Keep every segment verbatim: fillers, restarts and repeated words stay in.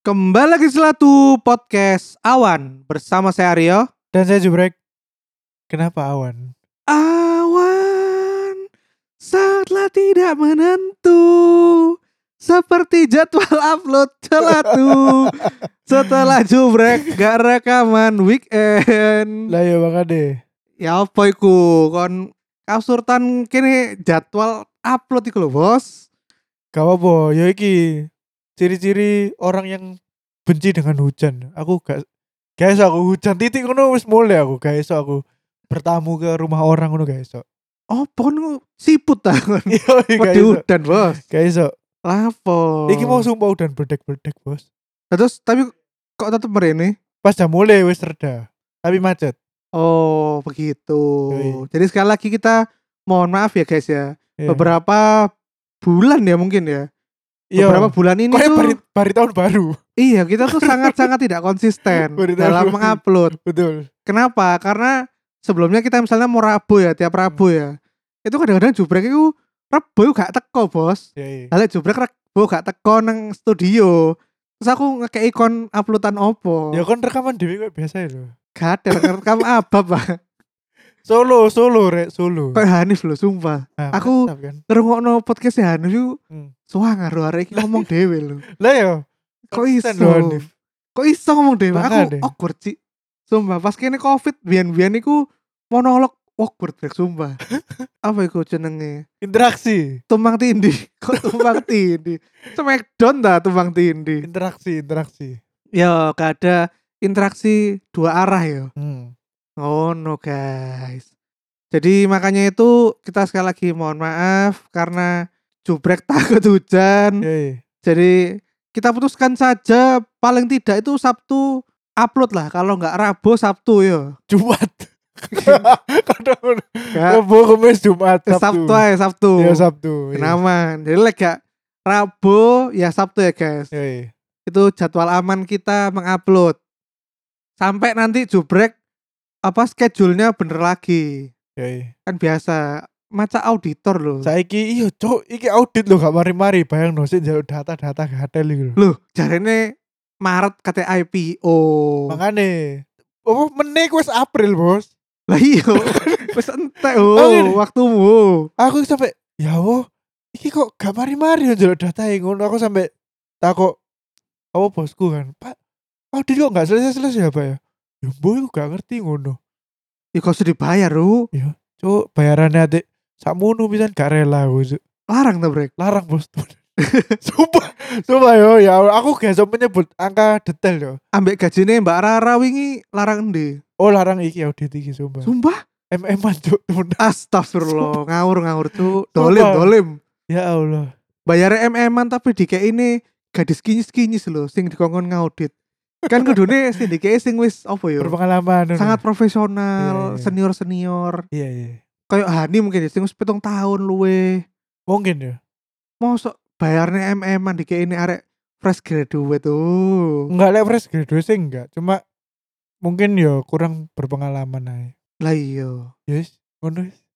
Kembali lagi Selatu Podcast Awan bersama saya Aryo. Dan saya Jubrek. Kenapa awan? Awan sangatlah tidak menentu, seperti jadwal upload Selatu. Setelah Jubrek gak rekaman weekend. Lah ya bang Ade. Ya apa iku kon kasurtan kini jadwal upload iku lho bos. Gak apa-apa. Ya iki ciri-ciri orang yang benci dengan hujan. Aku gak gak iso aku hujan titik ngono wis mulai aku gak iso aku bertamu ke rumah orang ngono gak iso. Oh pon siput ta kon. Iya gak Wedi iso. udan bos. Gak iso. Lapo. Iki mau sumpah udan bledek-bledek bos. Terus tapi kok tetep merene? Pas jam mulai wis reda. Tapi macet. Oh begitu. Yoi. Jadi sekali lagi kita mohon maaf ya guys ya. Iya. Beberapa bulan ya mungkin ya. Iya. Beberapa bulan ini Kayak tuh bari, bari tahun baru. iya kita tuh sangat-sangat tidak konsisten Bari tahun dalam baru. mengupload. Betul. Kenapa? Karena sebelumnya kita misalnya mau Rabu ya, tiap Rabu ya. Itu kadang-kadang Jubrek itu Rabu itu gak teko bos. Ya, iya. Lalu Jubrek Rabu gak teko nang studio. Terus aku ngekei kon uploadan opo. Ya kan rekaman dewe kayak biasa ya lho. Gak ada rekam apa pak. Solo, solo rek, solo. Kayak Hanif loh sumpah. Nah, aku- mantap kan. Ngerungokno podcast Hanif itu Hmm. suangar lho arek iki ngomong dhewe lho. Lah ya. Kok konsisten iso? lho, Hanif. Kok iso ngomong dhewe? Aku Makanya. awkward sih. Sumpah pas kene Covid biyen-biyen iku monolog awkward brek sumpah. Apa iku jenenge? Interaksi, Tumbang tindih. Kok tumbang tindih? Smackdown dah tumbang tindih. interaksi, interaksi. Ya gak ada interaksi dua arah ya. Hmm. Oh no guys. Jadi makanya itu kita sekali lagi mohon maaf karena Jubrek takut hujan. Yoi. Jadi kita putuskan saja paling tidak itu Sabtu upload lah. Kalau nggak Rabu Sabtu ya. Jumat. Kadang Ya, Rabu, Kamis, Jumat, eh, Sabtu. Sabtu aja Sabtu. Ya Sabtu. iya. Kenaman. Jadi like gak Rabu ya Sabtu ya guys. Yoi. Itu jadwal aman kita mengupload. Sampai nanti Jubrek apa schedule-nya bener lagi. Yoi. Kan biasa maca auditor loh. Saiki iya cok, iki audit lho gak mari-mari bayangno sik njaluk data-data gatel iki lho. Loh, jarene Maret kate I P O. Makane apa meneh wis April, Bos. Lah iya, wis entek Oh, oh, gini. waktumu. Aku sampai ya Allah, iki kok gak mari-mari njaluk data ngono. Aku sampai takok apa bosku kan, Pak, audit kok gak selesai-selesai ya, Pak ya? Ya boy aku gak ngerti ngono. Ya kok sudah dibayar, Ru. Cuk, bayarannya adik sakmono pisan gak rela aku. Cuk. Larang ta, Brek. Larang bos. Sumpah, sumpah yo ya aku gak iso menyebut angka detail yo. Ambek gajine Mbak Rara wingi larang endi? Oh larang iki audit iki sumpah. Sumpah? M M-an cuk temen. Astagfirullah, ngawur-ngawur tuh. Dolim, Sumpah. dolim. Ya Allah. Bayar M M-an tapi dikei ini gadis kinyis-kinyis lho sing dikongkon ngaudit. Kan kudune sing dikei sing wis apa ya? Berpengalaman. Sangat Iya, profesional, iya. senior-senior. Iya iya. Kayak Hani mungkin ya, sing wis pitung tahun luwe. Mungkin ya. Mosok bayarnya M M-an dikei ini arek fresh graduate tuh. Enggak lek fresh graduate sih enggak, cuma mungkin ya kurang berpengalaman aja. Lah iya. Yes, ngono. wis.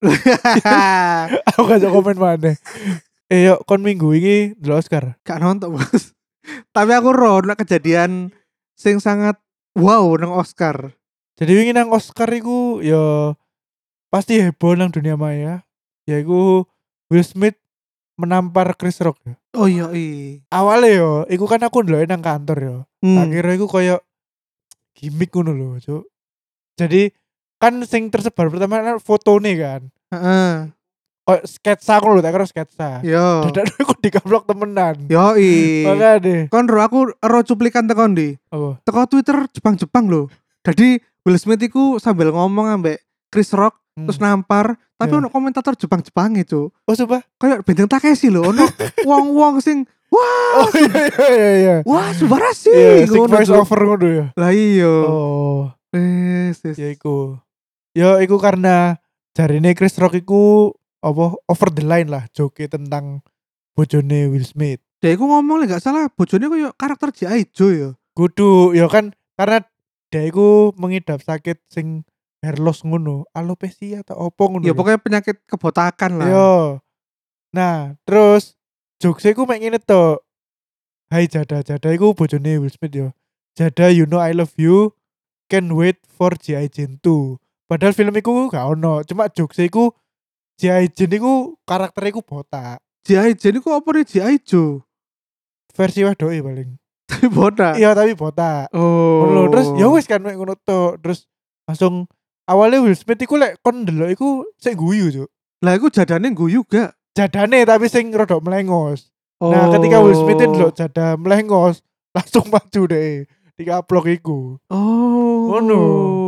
Aku gak iso komen maneh. Eh yuk kon minggu ini delok Oscar. Gak nonton bos. Tapi aku roh nek kejadian sing sangat wow nang Oscar. Jadi wingi nang Oscar iku ya pasti heboh nang dunia maya. Yaiku Will Smith menampar Chris Rock ya. Oh iya iya. Awalnya yo, iku kan aku ndeloke nang kantor yo. Tak Hmm. kira iku koyo gimmick ngono lho, Cuk. Jadi kan sing tersebar pertama kan fotone kan. Heeh. Koyo sketsa aku lho, tak kira sketsa. Yo. Dadak aku digablok temenan. Yo i. Makane. Kon ro aku ro cuplikan tekan ndi. Apa? Teko Twitter Jepang-Jepang lho. Jadi Will Smith iku sambil ngomong ambek Chris Rock Hmm. terus nampar, tapi Ya. ono komentator Jepang-Jepang itu. Oh sumpah. Kayak benteng Takeshi lho, ono wong-wong sing wah, Oh iya iya iya. wah subarashi. Iya, sing Ngono, voice Cuk. over ngono ya. Lah iya. Oh, Wes, wes. ya iku. Ya iku karena jarine Chris Rock iku apa over the line lah joke tentang bojone Will Smith. Dia iku ngomong lek gak salah bojone koyo karakter G I Joe ya. Kudu ya kan karena dia iku mengidap sakit sing hair loss ngono, alopecia atau opo ngono. Ya lho. pokoknya penyakit kebotakan lah. Yo. Nah, terus jokes iku mek ngene to. Hai Jada, Jada iku bojone Will Smith yo. Jada, you know I love you. Can't wait for G I. Jane two. Padahal film iku gak ono, cuma jokes iku G I. Jane iku karakter iku botak. G I. Jane iku apa nih G I. Joe? Versi wedoke paling. Tapi botak. Iya tapi botak. Oh. Ngono terus ya wis kan mek ngono tok. Terus langsung awalnya Will Smith iku lek kon ndelok iku sik guyu, Cuk. Lah iku jadane guyu gak? Jadane tapi sing rada melengos. Oh. Nah, ketika Will Smith ndelok jada melengos, langsung maju deh. Dikaplok iku. Oh. Ngono.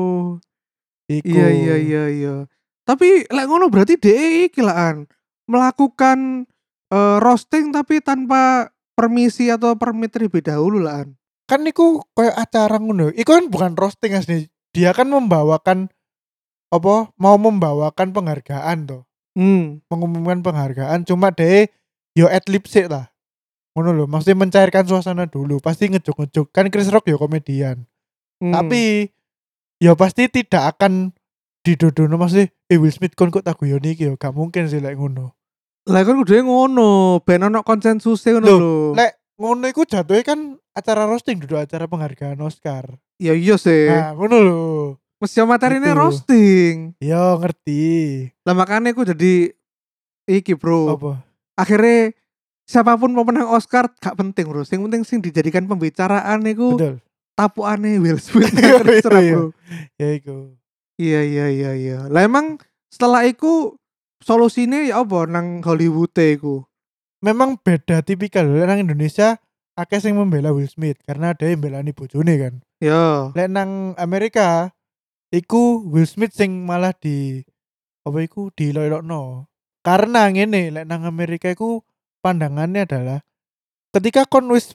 Iku. Iya iya iya iya. Tapi lek ngono berarti dhek iki laan melakukan uh, roasting tapi tanpa permisi atau permit terlebih dahulu laan. Kan niku kayak acara ngono. Iku kan bukan roasting asli. Dia kan membawakan apa? Mau membawakan penghargaan tuh. Hmm. Mengumumkan penghargaan cuma deh yo adlib sik lah. Ngono lho, maksudnya mencairkan suasana dulu. Pasti ngejuk-ngejuk. Kan Chris Rock yo komedian. Hmm. Tapi ya pasti tidak akan didodono maksudnya eh Will Smith kon kok tak guyoni iki yo gak mungkin sih lek ngono. Lah kan kudu ngono, ben ono konsensus ngono Loh, lho. Lek ngono iku jatuhnya kan acara roasting duduk acara penghargaan Oscar. Ya iya sih. Nah, ngono lho. Mesti materine Gitu. roasting. Yo ngerti. Lah makanya aku jadi iki, Bro. Apa? Akhirnya siapapun pemenang Oscar gak penting, Bro. Sing penting sing dijadikan pembicaraan iku Betul. tapukane Will Smith. Iya, Terserah, iya. Bro. Ya iku. Iya iya iya iya. Lah emang setelah iku solusine ya apa nang Hollywood iku? Memang beda tipikal lek nang Indonesia akeh sing membela Will Smith karena ada yang belani bojone kan. Ya. Lek nang Amerika iku Will Smith sing malah di apa iku dilolokno. Karena ngene lek nang Amerika iku pandangannya adalah ketika kon wis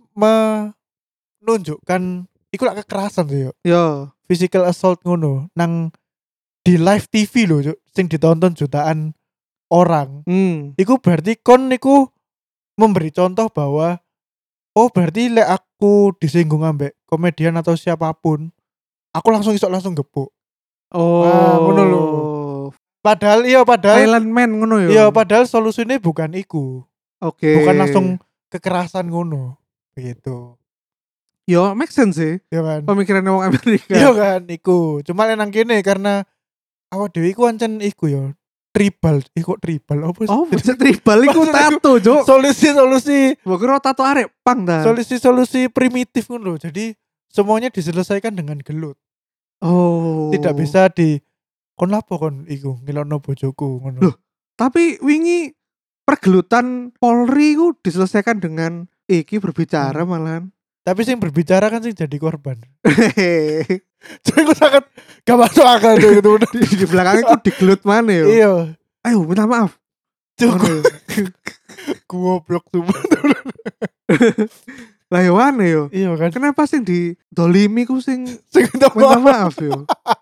menunjukkan iku lak kekerasan sih yo. Ya. Physical assault ngono nang di live T V lho Cuk, sing ditonton jutaan orang. Hmm. Iku berarti kon niku memberi contoh bahwa oh berarti lek aku disinggung ambek komedian atau siapapun, aku langsung isok langsung gepuk. Oh. Ah, ngono lho. Padahal iya padahal Silent Man ngono ya. iya padahal solusinya bukan iku. Oke. Bukan langsung kekerasan ngono. Begitu. Yo make sense sih. Ya kan? Pemikirannya wong Amerika. Iya kan iku. Cuma lek nang kene karena awak dhewe iku ancen iku yo. Tribal, iku tribal apa sih? Oh, bisa tribal iku Maksudnya tato, Cuk. Solusi-solusi Mbok kira tato arek pang dah. solusi-solusi primitif ngono. Jadi semuanya diselesaikan dengan gelut. Oh. Tidak bisa di kon lapo kon iku ngelokno bojoku ngono. Loh, tapi wingi pergelutan Polri ku diselesaikan dengan iki berbicara Hmm. malahan. Tapi sing berbicara kan sing jadi korban. Jadi aku sangat gak masuk akal tuh gitu. di, di belakangnya ku digelut mana yo. Iya. Ayo minta maaf. Cukup. Goblok tuh. Lah yo mana yo. Iya kan. Kenapa sing di dolimi ku sing Sing minta minta maaf. maaf yo.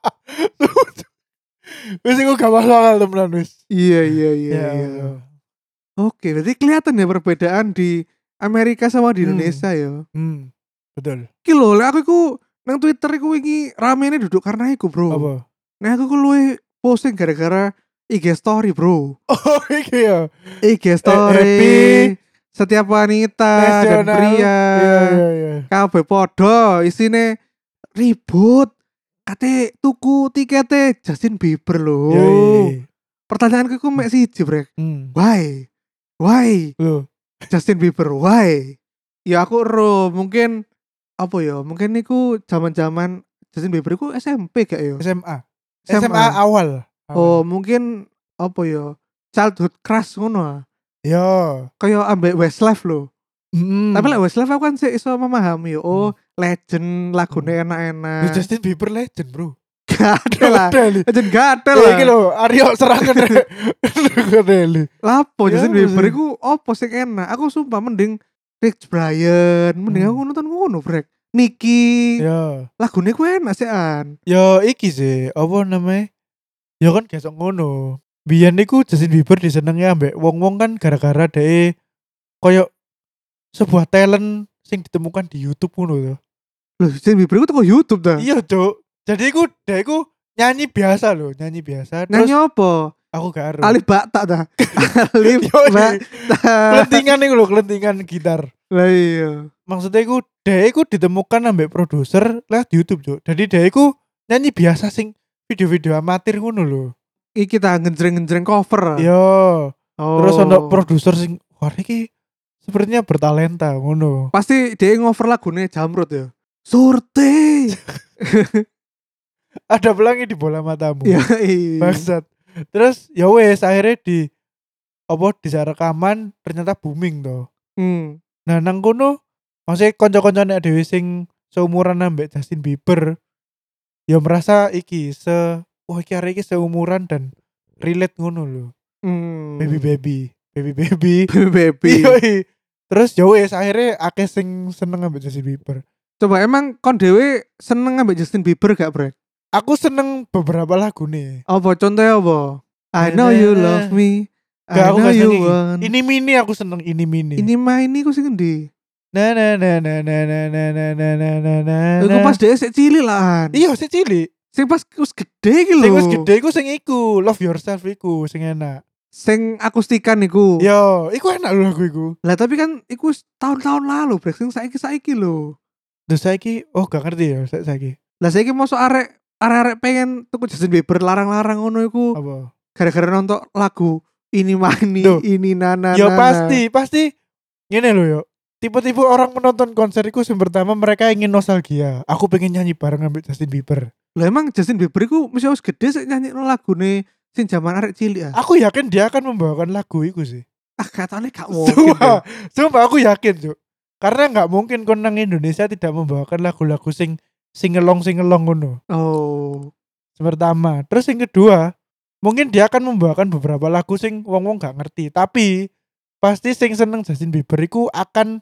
Wis aku gak masuk akal temenan wis. Iya iya iya Ya iya. Allah. Oke, berarti kelihatan ya perbedaan di Amerika sama di Hmm. Indonesia yo. Hmm. Betul. Iki lho, lek aku iku nang Twitter iku wingi ramene duduk karena iku, Bro. Apa? Nah, aku ku luwe posting gara-gara I G story, Bro. Oh iki ya. I G story. happy Setiap wanita dan nasional. pria. Iya iya iya. Kabeh podo isine ribut. Kate tuku tiketnya Justin Bieber lho. Iya, iya, iya. Pertanyaanku ku mek siji, Brek. Hmm. Why? Why? Loh. Justin Bieber, why? Ya aku ero mungkin apa ya? Mungkin niku zaman-zaman Justin Bieber iku S M P gak ya? S M A. S M A. S M A awal. Oh, mungkin apa ya? Childhood crush ngono. ah. Ya. Kayak ambek Westlife lho. Hmm. Tapi lek Westlife aku kan sih iso memahami yo. Oh, legend lagune Ya, enak-enak. Justin Bieber legend, Bro. Gak ada lah. Deli. Legend gak ada Ya lah. iki lho, Aryo serangan. Deli. Lapo Ya, Justin Bieber sih. iku opo sing enak? Aku sumpah mending Rich Brian, mending Hmm. aku nonton ngono, Brek. Niki. Ya. Lagune ku enak sih an. Ya iki sih, apa namanya? Ya kan gesok ngono. Biyen niku Justin Bieber disenengi ambek wong-wong kan gara-gara dhek koyo sebuah talent sing ditemukan di YouTube ngono lho. Loh, Justin Bieber iku teko YouTube dah. Iya, Cuk. Jadi iku dhek iku nyanyi biasa lho, nyanyi biasa. Terus Nyanyi apa? Aku gak ero. Alif Bakta ta. Alif Yoi. Bakta. Kelentingan iku lho, kelentingan gitar. Lah iya. Maksudnya iku dhek iku ditemukan ambek produser lewat YouTube, Cuk. Jadi dhek iku nyanyi biasa sing video-video amatir ngono lho. Iki ta ngenjreng-ngenjreng cover. Yo. Oh. Terus ono produser sing wah iki sepertinya bertalenta ngono. Pasti dia ngover lagune Jamrut ya. Surti. Ada pelangi di bola matamu. Ya iya. Bangsat. Terus ya wes akhirnya di apa di rekaman ternyata booming toh. Hmm. Nah nang kono maksudnya kanca-kancane dhewe sing seumuran ambek Justin Bieber ya merasa iki se wah iki arek iki seumuran dan relate ngono lho. Hmm. Baby baby, baby baby. Baby baby. Yoi. Terus ya wes akhirnya akeh sing seneng ambek Justin Bieber. Coba emang kon dhewe seneng ambek Justin Bieber gak, Brek? Aku seneng beberapa lagu nih. Apa contohnya apa? I know you love me. Gak, I aku know gak you seneng want. ini mini aku seneng ini mini. Ini main ini ku sing endi? Na na na na na na na na na na na na. Iku pas dhewe sik cilik lah. Iya sik cilik. Sing pas wis gede iki lho. Sing wis gede iku sing iku, Love Yourself iku sing enak. Sing akustikan iku. Yo, iku enak lho lagu iku. Lah tapi kan iku wis tahun-tahun lalu, Brek. Sing saiki-saiki lho. Terus saiki oh gak ngerti ya sa- saiki. Lah saiki mosok arek arek-arek pengen tuku Justin Bieber larang-larang ngono iku Apa? gara-gara nonton lagu ini mani Duh. ini nana Ya nana. pasti, pasti ngene lho yo. Tipe-tipe orang menonton konser iku yang pertama mereka ingin nostalgia. Aku pengen nyanyi bareng ambek Justin Bieber. Lah emang Justin Bieber iku mesti wis gede sik nyanyikno lagune sing zaman arek cilik ah. Aku yakin dia akan membawakan lagu iku sih. Ah katanya gak mungkin. Sumpah, sumpah aku yakin, Cuk. Karena nggak mungkin kon nang Indonesia tidak membawakan lagu-lagu sing singelong singelong ngono. Oh. Pertama, terus yang kedua, mungkin dia akan membawakan beberapa lagu sing wong-wong gak ngerti, tapi pasti sing seneng Justin Bieber iku akan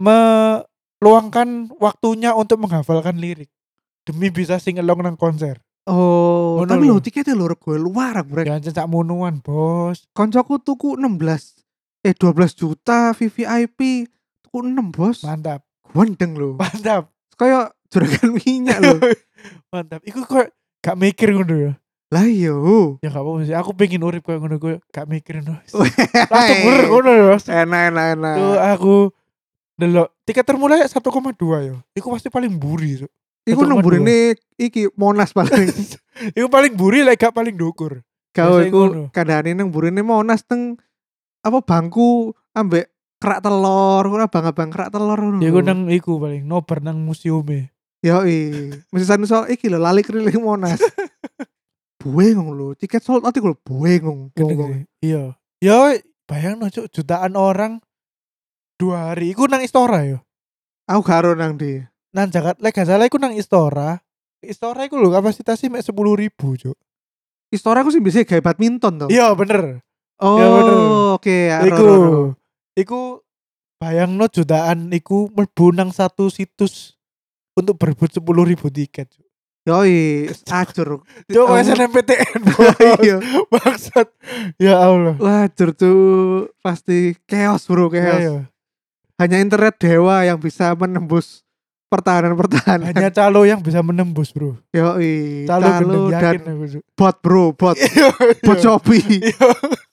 meluangkan waktunya untuk menghafalkan lirik demi bisa singelong nang konser. Oh, Ngono tapi lho. lho tiketnya lho rego luar, Brek. Jangan cecak monuan, Bos. Koncoku tuku enam belas eh dua belas juta V V I P tuku enam, Bos. Mantap. Wendeng lho. Mantap. Kayak juragan minyak lho. Mantap. Iku kok gak mikir ngono ya. Lah iya. Ya gak apa-apa sih. Aku pengen urip kayak ngono gue gak mikirin. Langsung bener ngono ya. Enak enak enak. Tuh aku delok tiket termurah satu koma dua ya. Iku pasti paling buri, Cuk. Iku nang burine iki Monas paling. Iku paling buri lek gak paling dukur. Kau Biasanya iku ngono. kadane nang burine Monas teng apa bangku ambek kerak telur, ngono abang-abang kerak telur ngono. Ya iku nang iku paling nobar nang museume. Yoi. Mesti sanu soal iki lho lali keliling Monas. Buengong lho, tiket sold out iku lho buengong. Gendeng. Iya. Ya bayangno, Cuk, jutaan orang dua hari iku nang Istora ya. Aku garo nang di. Nang Jakarta, lek gak salah iku nang Istora. Istora iku lho kapasitasnya mek sepuluh ribu, Cuk. Istora aku sih bisa gawe badminton toh. Iya bener. Oh, ya bener. oke. ya, Iku ro, ro, ro. iku bayangno jutaan iku mlebu nang satu situs untuk berebut sepuluh ribu tiket, Cuk. Yoi, acur. Cuk, Oh. S N M P T N. Iya. Bangsat. Ya Allah. Wajur tuh pasti chaos bro, chaos. Ayo. Hanya internet dewa yang bisa menembus pertahanan-pertahanan. Hanya calo yang bisa menembus, Bro. Yoi, Calo gendeng dan yakin aku, Cuk. bot bro, bot, Iya, bot iya. Shopee. Iya.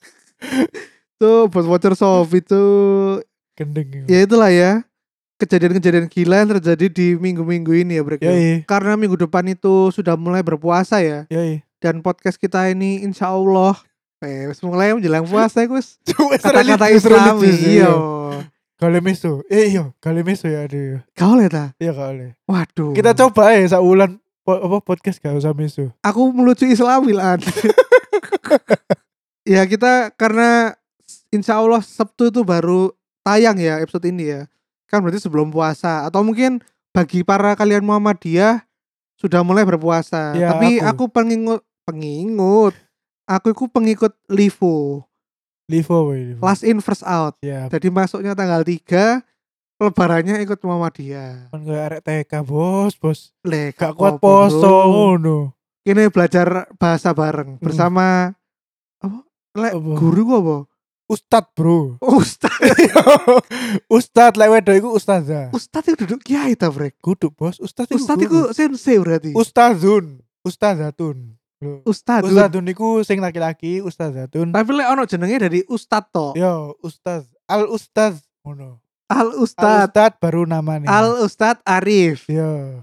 Tuh bot voucher Shopee tuh. Gendeng. Ya itulah ya. Kejadian-kejadian gila yang terjadi di minggu-minggu ini ya bro. Ya, iya. Karena minggu depan itu sudah mulai berpuasa ya. Ya, iya. Dan podcast kita ini insya Allah eh wis mulai menjelang puasa Gus. Cuk, Kata-kata religius, Islami. religius, Iya. Kale meso. Eh iya, kale meso ya ada. Kau lihat ah? Iya kale. Waduh. Kita coba ya sak wulan po, apa podcast gak usah meso. Aku melucu Islami lah. Ya kita karena insya Allah Sabtu itu baru tayang ya episode ini ya. Kan berarti sebelum puasa. Atau mungkin bagi para kalian Muhammadiyah sudah mulai berpuasa. Ya, Tapi aku. aku pengingut pengingut. Aku itu pengikut Livo. Livo boy. Livo. Last in first out. Siap. Jadi masuknya tanggal tiga, lebarannya ikut Muhammadiyah. Kan kayak arek T K, Bos, Bos. Le, Gak gak kuat apa-apa, poso bro. ngono. Ini belajar bahasa bareng Hmm. bersama apa? Lek Apa? guru gua apa? Ustad, Bro. Ustaz. Ustad lek wedo iku ustazah. Ustaz itu duduk kiai ta, Brek. Kudu, Bos. Ustad iku. Ustaz guru. itu sensei berarti. Ustazun, ustazatun. Lho, Ustadun. Ustadun iku sing laki-laki, Ustazatun. Tapi lek ono jenenge dari Ustad to. Yo, Ustaz, Al Ustaz ngono. Al Al Ustad. Ustad baru namanya. Al Ustad Arif. Yo.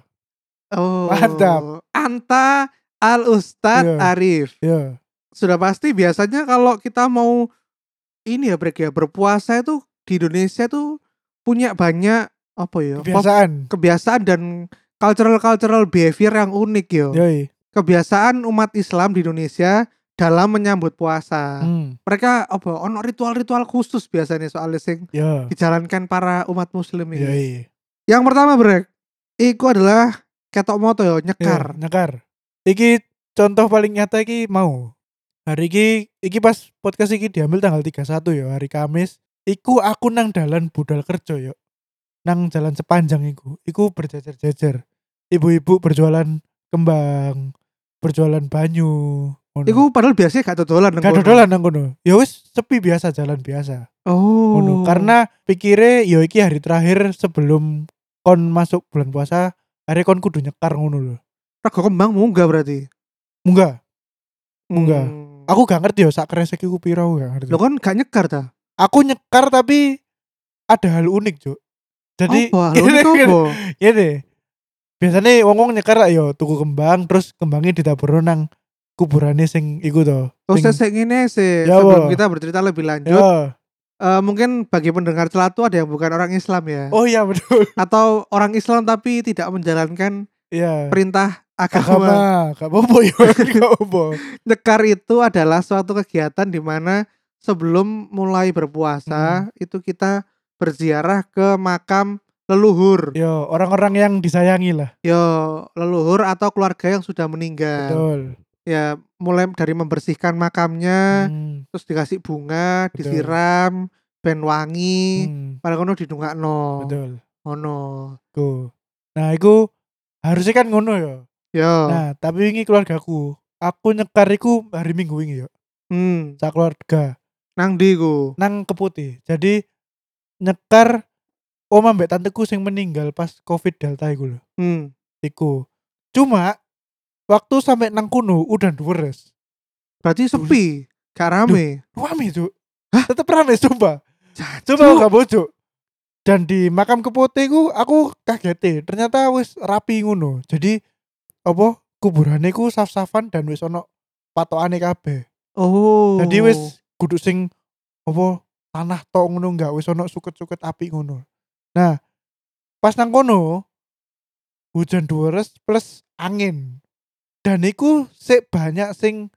Oh. Mantap. Anta Al Ustad Yo. Arif. Yo. Sudah pasti biasanya kalau kita mau ini ya Brek ya, berpuasa itu di Indonesia tuh punya banyak apa ya? Kebiasaan. Pop, kebiasaan dan cultural-cultural behavior yang unik yo. Yoi. Kebiasaan umat Islam di Indonesia dalam menyambut puasa. Hmm. Mereka apa ono ritual-ritual khusus biasanya soalnya sing Yo. dijalankan para umat muslim ini. Yoi. Yang pertama Brek, iku adalah ketok moto yo, nyekar. Yo, nyekar. Iki contoh paling nyata iki mau. Hari iki iki pas podcast iki diambil tanggal tiga puluh satu ya, hari Kamis. Iku aku nang dalan budal kerja yo. Nang jalan sepanjang iku. Iku berjejer-jejer. Ibu-ibu berjualan kembang, berjualan banyu. Ngono. Iku padahal biasanya gak dodolan nang Gak kono. dodolan nang kono. Ya wis sepi biasa, jalan biasa. Oh. Ngono. Karena pikire yo iki hari terakhir sebelum kon masuk bulan puasa, hari kon kudu nyekar ngono lho. Rego kembang munggah berarti. Munggah. Munggah. Hmm. Aku gak ngerti yo sak kresek iku piro, aku gak ngerti. Lo kan gak nyekar ta? Aku nyekar tapi ada hal unik, Cuk. Jadi apa? Lo unik apa? Gini. Biasanya wong-wong nyekar lah yo tuku kembang terus kembangnya ditabur nang kuburane sing iku to. Oh, Sing- saya ngene sih. Ya, Sebelum apa? kita bercerita lebih lanjut, Yo. eh, mungkin bagi pendengar celatu ada yang bukan orang Islam ya, Oh iya betul. atau orang Islam tapi tidak menjalankan Iya. perintah agama. Agama, gak apa-apa yo, gak apa. Nyekar itu adalah suatu kegiatan di mana sebelum mulai Hmm. berpuasa itu kita berziarah ke makam leluhur. Yo, orang-orang yang disayangi lah. Yo, leluhur atau keluarga yang sudah meninggal. Betul. Ya, mulai dari membersihkan makamnya, Hmm. terus dikasih bunga, Betul. disiram, ben wangi, Hmm. pada kono didongakno. Betul. Ngono. Ku. Nah, iku harusnya kan ngono yo. Yo. Nah, tapi ini keluargaku. Aku nyekar iku hari Minggu ini yo. Hmm, Sak keluarga nang ndi ku? nang Keputih. Jadi nyekar oma mbak tanteku sing meninggal pas Covid Delta iku lho. Hmm. Iku. Cuma waktu sampai nang kuno udah deres. Berarti sepi, gak rame. Rame, Cuk. Tetep rame sumpah. Jancuk. Coba aku gak bocok. Dan di makam Keputih ku aku kaget. Ternyata wis rapi ngono. Jadi apa kuburane ku saf-safan dan wis ono patokane kabeh. Oh. Jadi wis kudu sing apa tanah tok ngono enggak wis ono suket-suket api ngono. Nah, pas nang kono hujan deres plus angin. Dan iku sik banyak sing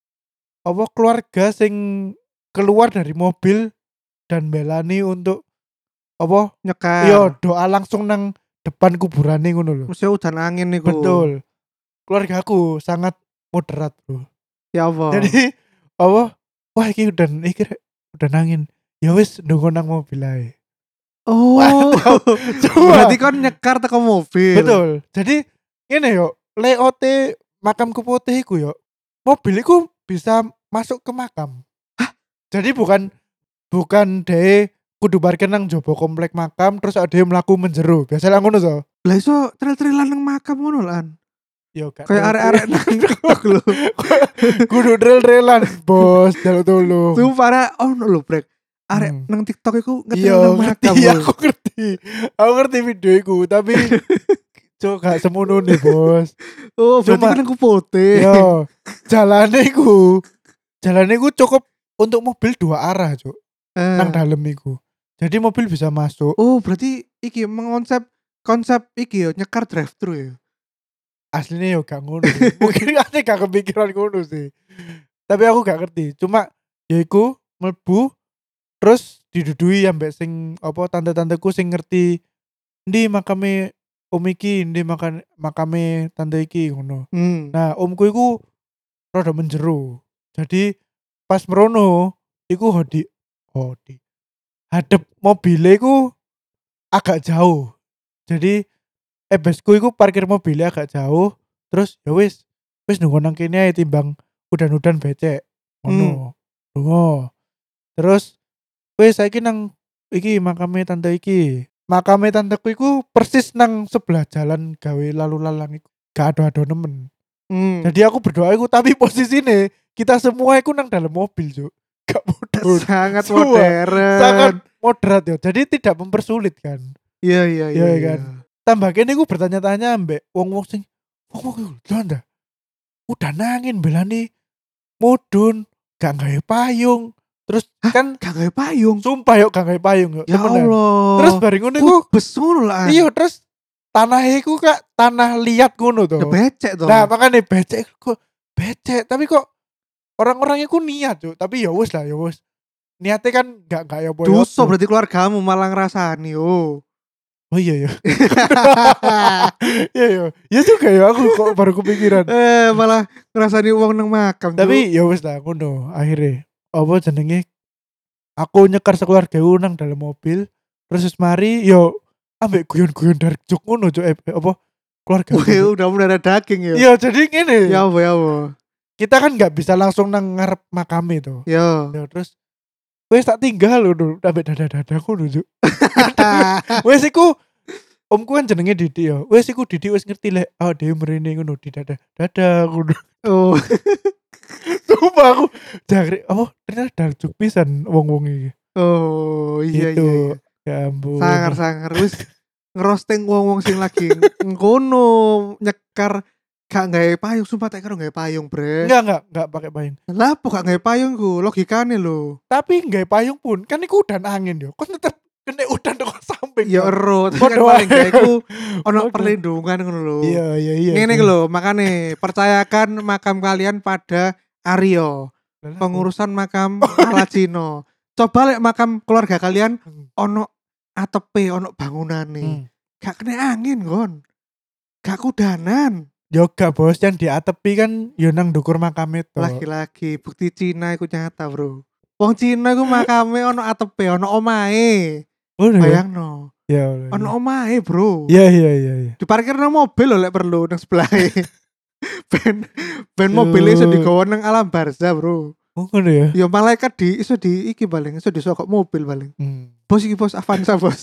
apa keluarga sing keluar dari mobil dan belani untuk apa nyekar. iya doa langsung nang depan kuburane ngono lho. Mesti udan angin niku. Betul. Keluargaku sangat moderat, Bro. Ya Allah. Jadi apa? Wah iki udah iki rek, udah nangin. Ya wis ndonga nang mobil ae. Oh. Mantap. Coba. Berarti kan nyekar teko mobil. Betul. Jadi ngene yo, layoute makam Keputih iku yo. Mobil iku bisa masuk ke makam. Hah? Jadi bukan bukan de kudu parkir nang jopo komplek makam terus ada yang mlaku menjero. Biasanya ngono to. Lah iso trail-trailan nang makam ngono lan. Yo gak Kayak arek-arek nang TikTok lho. kudu trail-trailan, Bos. Jaluk tolong. Sumpah arek ono lho, Brek. Arek Hmm. nang TikTok iku ngetrail Iya nang ngerti, makam. iya, lho. aku ngerti. Aku ngerti video iku, tapi cok gak semono nih, Bos. Oh, berarti Cuma- kan aku putih. Yo, jalane iku. Jalane iku cukup untuk mobil dua arah, Cok. Eh. Nang dalem iku. Jadi mobil bisa masuk. Oh, berarti iki mengonsep konsep iki yo nyekar drive thru ya. Aslinya yo gak ngono. Mungkin ane gak kepikiran ngono sih. Tapi aku gak ngerti. Cuma ya iku mlebu terus didudui ambek sing apa tante-tanteku sing ngerti ndi makame om iki, ndi makan makame tante iki ngono. Hmm. Nah, omku iku rada menjero. Jadi pas merono iku hodi hodi. Hadep mobilnya iku agak jauh. Jadi ebesku iku parkir mobilnya agak jauh. Terus ya wis, wis nunggu nang kene ae timbang udan-udan becek. Ngono. Dungo. Terus wis saiki nang iki makame tante iki. Makame tanteku iku persis nang sebelah jalan gawe lalu lalang iku. Gak ado-ado nemen. Hmm. Jadi aku berdoa iku tapi posisine kita semua iku nang dalam mobil, Cuk. Gak bodoh. Sangat Semua. modern. Sangat moderat ya. Jadi tidak mempersulit kan. Iya iya iya Iya iya. kan. Tambah kene iku bertanya-tanya ambek wong-wong sing wong-wong iku lho ndak. Udah nangin belani mudun, gak gawe payung. Terus Hah? kan Gak gawe payung. sumpah yuk gak gawe payung yuk. Ya temenan. Allah. Terus bareng ngono iku Kubes ngono lah. iya terus tanah iku kak tanah liat ngono Ya to. becek toh. Nah makanya becek kok becek tapi kok orang-orang iku niat Cuk. Tapi ya wis lah ya wis. Niatnya kan gak gak ya apa-apa. Dosa berarti keluargamu malah ngrasani yo. Oh iya ya. Iya ya. Ya juga ya aku kok baru kepikiran. eh malah ngrasani uang nang makam. Tapi ya wis lah ngono akhirnya. Apa jenenge? Aku nyekar sekeluarga nang dalam mobil. Terus wis mari yo ambek guyon-guyon dari jok ngono Cuk. Eh, apa keluarga. Wih, udah mendarah daging ya. Iya jadi ngene. Ya apa ya apa. Kita kan nggak bisa langsung nang ngarep makame tuh. Yo. Ya terus wes tak tinggal lho ambek dada-dadaku lho Cuk. Wes iku omku kan jenenge Didi ya. Wes iku Didi wes ngerti lek oh dhewe mrene ngono di dada. Dada ngono. Oh. Sumpah aku jare oh ternyata darjuk pisan wong-wong iki. Oh iya Gitu. iya. iya. Ya ampun. Sangar-sangar wis ngerosting wong-wong sing lagi ngono nyekar gak gawe payung sumpah tak kira gawe payung, Bre. Enggak enggak enggak pakai payung. Lah kok gak gawe payung ku? Logikane lho. Tapi gawe payung pun kan iku udan angin yo. Kok tetep kena udan kok samping. Ya Cuk. ero, tapi kan Podo paling gak ae. iku ono Podo. perlindungan ngono lho. Iya iya iya. Ngene iki lho, makane percayakan makam kalian pada Aryo, pengurusan makam ala Cino. Coba lek makam keluarga kalian Hmm. ono atepe, ono bangunane. Hmm. Gak kena angin, Gon. Gak kudanan. Yoga bos yang di atepi kan yo nang ndukur makam itu. Lagi-lagi bukti Cina iku nyata, Bro. Wong Cina iku makame ono atepe, ono omahe. Oh, Bayangno. ya. Ono omahe, Bro. Iya iya iya iya. Diparkir nang mobil lho lek perlu nang sebelahe. ben ben mobil iso digawa nang alam barzah, Bro. Oh ngono ya. Ya malaikat di iso di iki paling iso disokok mobil paling. Hmm. Bos iki bos Avanza, Bos.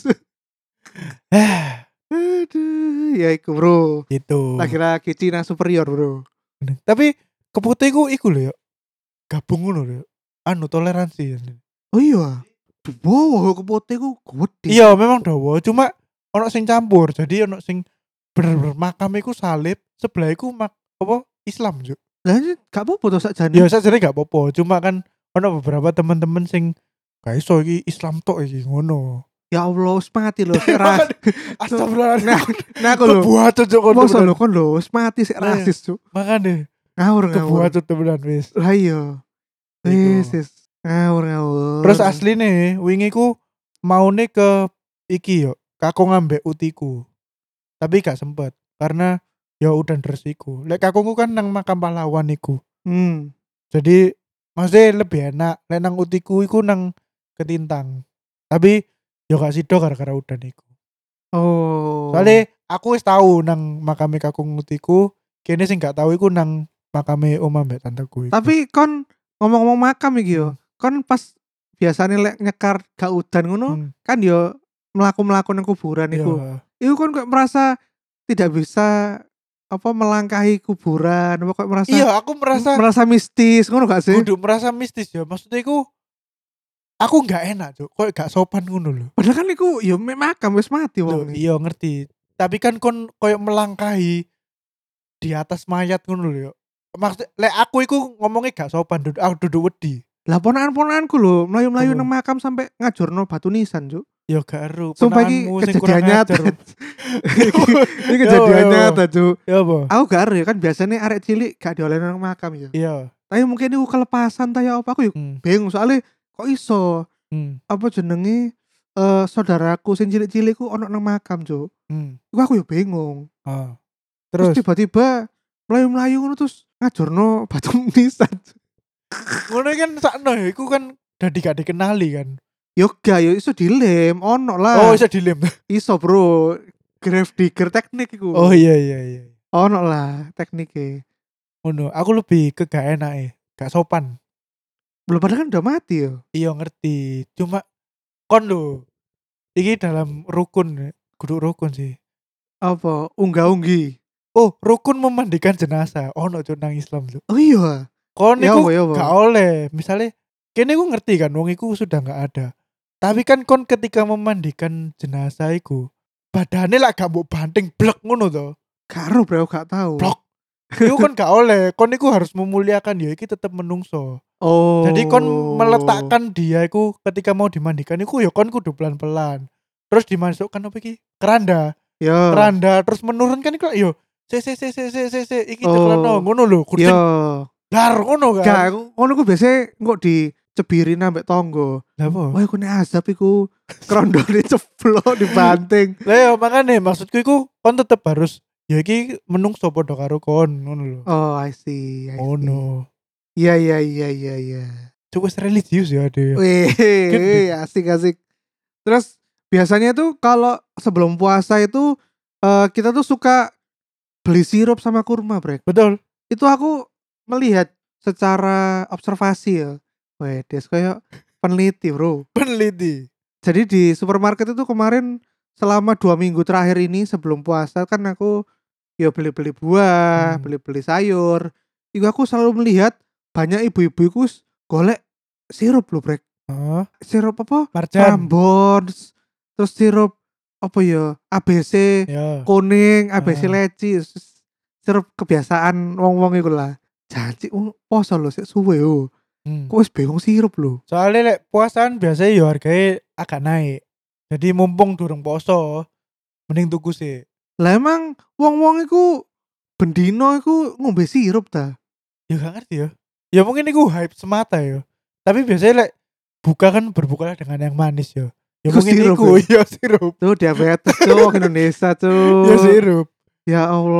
Aduh, ya iku, Bro. Itu. Lagi-lagi Cina superior, Bro. Tapi keputiku iku lho ya. Gabung ngono lho. Anu toleransi. Oh iya. Wow, kepote ku gede. Iya memang dawa, cuma ono sing campur. Jadi ono sing bener-bener makam iku salib, sebelah iku mak apa Islam juk. Lah ini gak apa-apa to sakjane. Ya sajane gak apa-apa, cuma kan ono beberapa teman-teman sing gak iso iki Islam tok iki ngono. Ya Allah, wis mati lho, sik ras. Astagfirullahaladzim. Nah, nah aku lho. Kebuat cuk kon. Masa lho kon lho, wis mati sik Nah, rasis, Cuk. Makane Ngawur ngawur. kebuat cuk temenan wis. Lah iya. Wis wis. Ngawur ngawur. Terus asline wingi ku maune ke iki yo, kakung ambek utiku. Tapi gak sempet karena ya udah dresiku. Lek kakungku kan nang makam pahlawan iku. Hmm. Jadi maksudnya lebih enak. Lek nang utiku iku nang Ketintang. Tapi yo gak sido gara-gara udan iku. Oh. Soalnya aku wis tahu nang makame kakung utiku, kene sing gak tahu iku nang makame oma mbek tanteku iku. Tapi kon ngomong-ngomong makam iki yo, kon pas biasanya lek nyekar gak udan ngono, Hmm. kan yo melaku-melaku nang kuburan iku. Iya. Iku kon kok merasa tidak bisa apa melangkahi kuburan, apa kok merasa Iya, aku merasa merasa mistis ngono gak sih? kudu merasa mistis ya. Maksudnya iku aku gak enak, Cuk. Kok gak sopan ngono lho. Padahal kan iku yo mek makam wis mati Loh, wong. iki. iya ngerti. Tapi kan kon koyo melangkahi di atas mayat ngono lho. Maksud lek aku iku ngomongnya gak sopan, duduk aku duduk wedi. Lah ponakan-ponakanku lho, melayu-melayu Apa? nang makam sampai ngajurno batu nisan, Cuk. Ya gak eru. Sumpah iki Ponakanmu sing kurang kejadian nyata. ajar. Ini kejadian Yo, yo, yo. nyata, Cuk. Ya apa? Aku gak ero ya kan biasanya arek cilik gak diolehin nang makam ya. Iya. Tapi mungkin iku kelepasan ta ya apa aku yo Hmm. bingung soalnya kok iso Hmm. apa jenenge eh saudaraku sing cilik-cilik ku ono nang makam, Cuk. Hmm. Iku aku yo bingung. Ah. Terus, Terus tiba-tiba melayu-melayu ngono terus ngajurno batu nisan. ngono kan sakno ya iku kan dadi gak dikenali kan. Yo gak yo iso dilem, ono lah. Oh, iso dilem. Iso, Bro. Grave digger teknik iku. Oh iya iya iya. Ono lah tekniknya. Ngono, aku lebih ke gak enake, gak sopan. Belum padahal kan udah mati yo. Iya ngerti. Cuma kon lho. Iki dalam rukun, kudu rukun sih. Apa unggah-unggi. Oh, rukun memandikan jenazah. Ono cuk nang Islam cuk. Oh iya. Kon Ya niku apa ya apa? gak oleh. Misalnya kene ku ngerti kan wong iku sudah gak ada. Tapi kan kon ketika memandikan jenazah iku badane lak gak mbok banting blek ngono to. Karo bro, gak tahu. Blok. Iku kan gak oleh. Kon iku harus memuliakan ya iki tetep menungso. Oh. Jadi kon meletakkan dia iku ketika mau dimandikan iku ya kon kudu pelan-pelan. Terus dimasukkan apa iki? Keranda. Ya. Keranda terus menurunkan iku yo se se se se se se se iki Oh. ceklano ngono lho. Kudu Ya. dar ngono Gak, kan. ngono ku biasanya kok dicebirin ambek tonggo. Lah apa? Wah, iku nek azab iku krondone ceblok dibanting. Lah ya makane maksudku iku kon tetep harus ya iki menungso padha karo kon ngono lho. Oh, I see. I see. Ngono. Iya iya iya iya iya. Cukup religius ya dia. Wih, asik asik. Terus biasanya tuh kalau sebelum puasa itu eh, kita tuh suka beli sirup sama kurma, Brek. Betul. Itu aku melihat secara observasi ya. Wih, des kayak peneliti, Bro. Peneliti. Jadi di supermarket itu kemarin selama dua minggu terakhir ini sebelum puasa kan aku ya beli-beli buah, Hmm. beli-beli sayur. Iku aku selalu melihat banyak ibu-ibu iku golek sirup loh, Brek. Heeh. Sirup apa? Marjan. Prambors. Terus sirup apa ya? A B C Ya. kuning, A B C Ah. leci. Sirup kebiasaan wong-wong iku lah. Janji uh, poso lho sik suwe yo. Hmm. Kok wis bingung sirup lho. Soalnya lek puasaan biasanya ya harganya agak naik. Jadi mumpung durung poso, mending tuku sih. Lah emang wong-wong iku bendino iku ngombe sirup ta? Ya gak ngerti ya. Ya mungkin itu hype semata ya. Tapi biasanya lek buka kan berbukalah dengan yang manis ya. Ya Iku mungkin sirup iku ya? ya sirup. Tuh diabetes tuh Indonesia tuh. Ya sirup Ya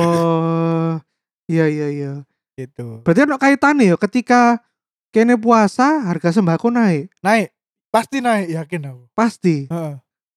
Allah. Iya iya iya. gitu. Berarti ada kaitannya ya ketika kene puasa harga sembako naik. Naik, pasti naik yakin aku. Pasti. Heeh.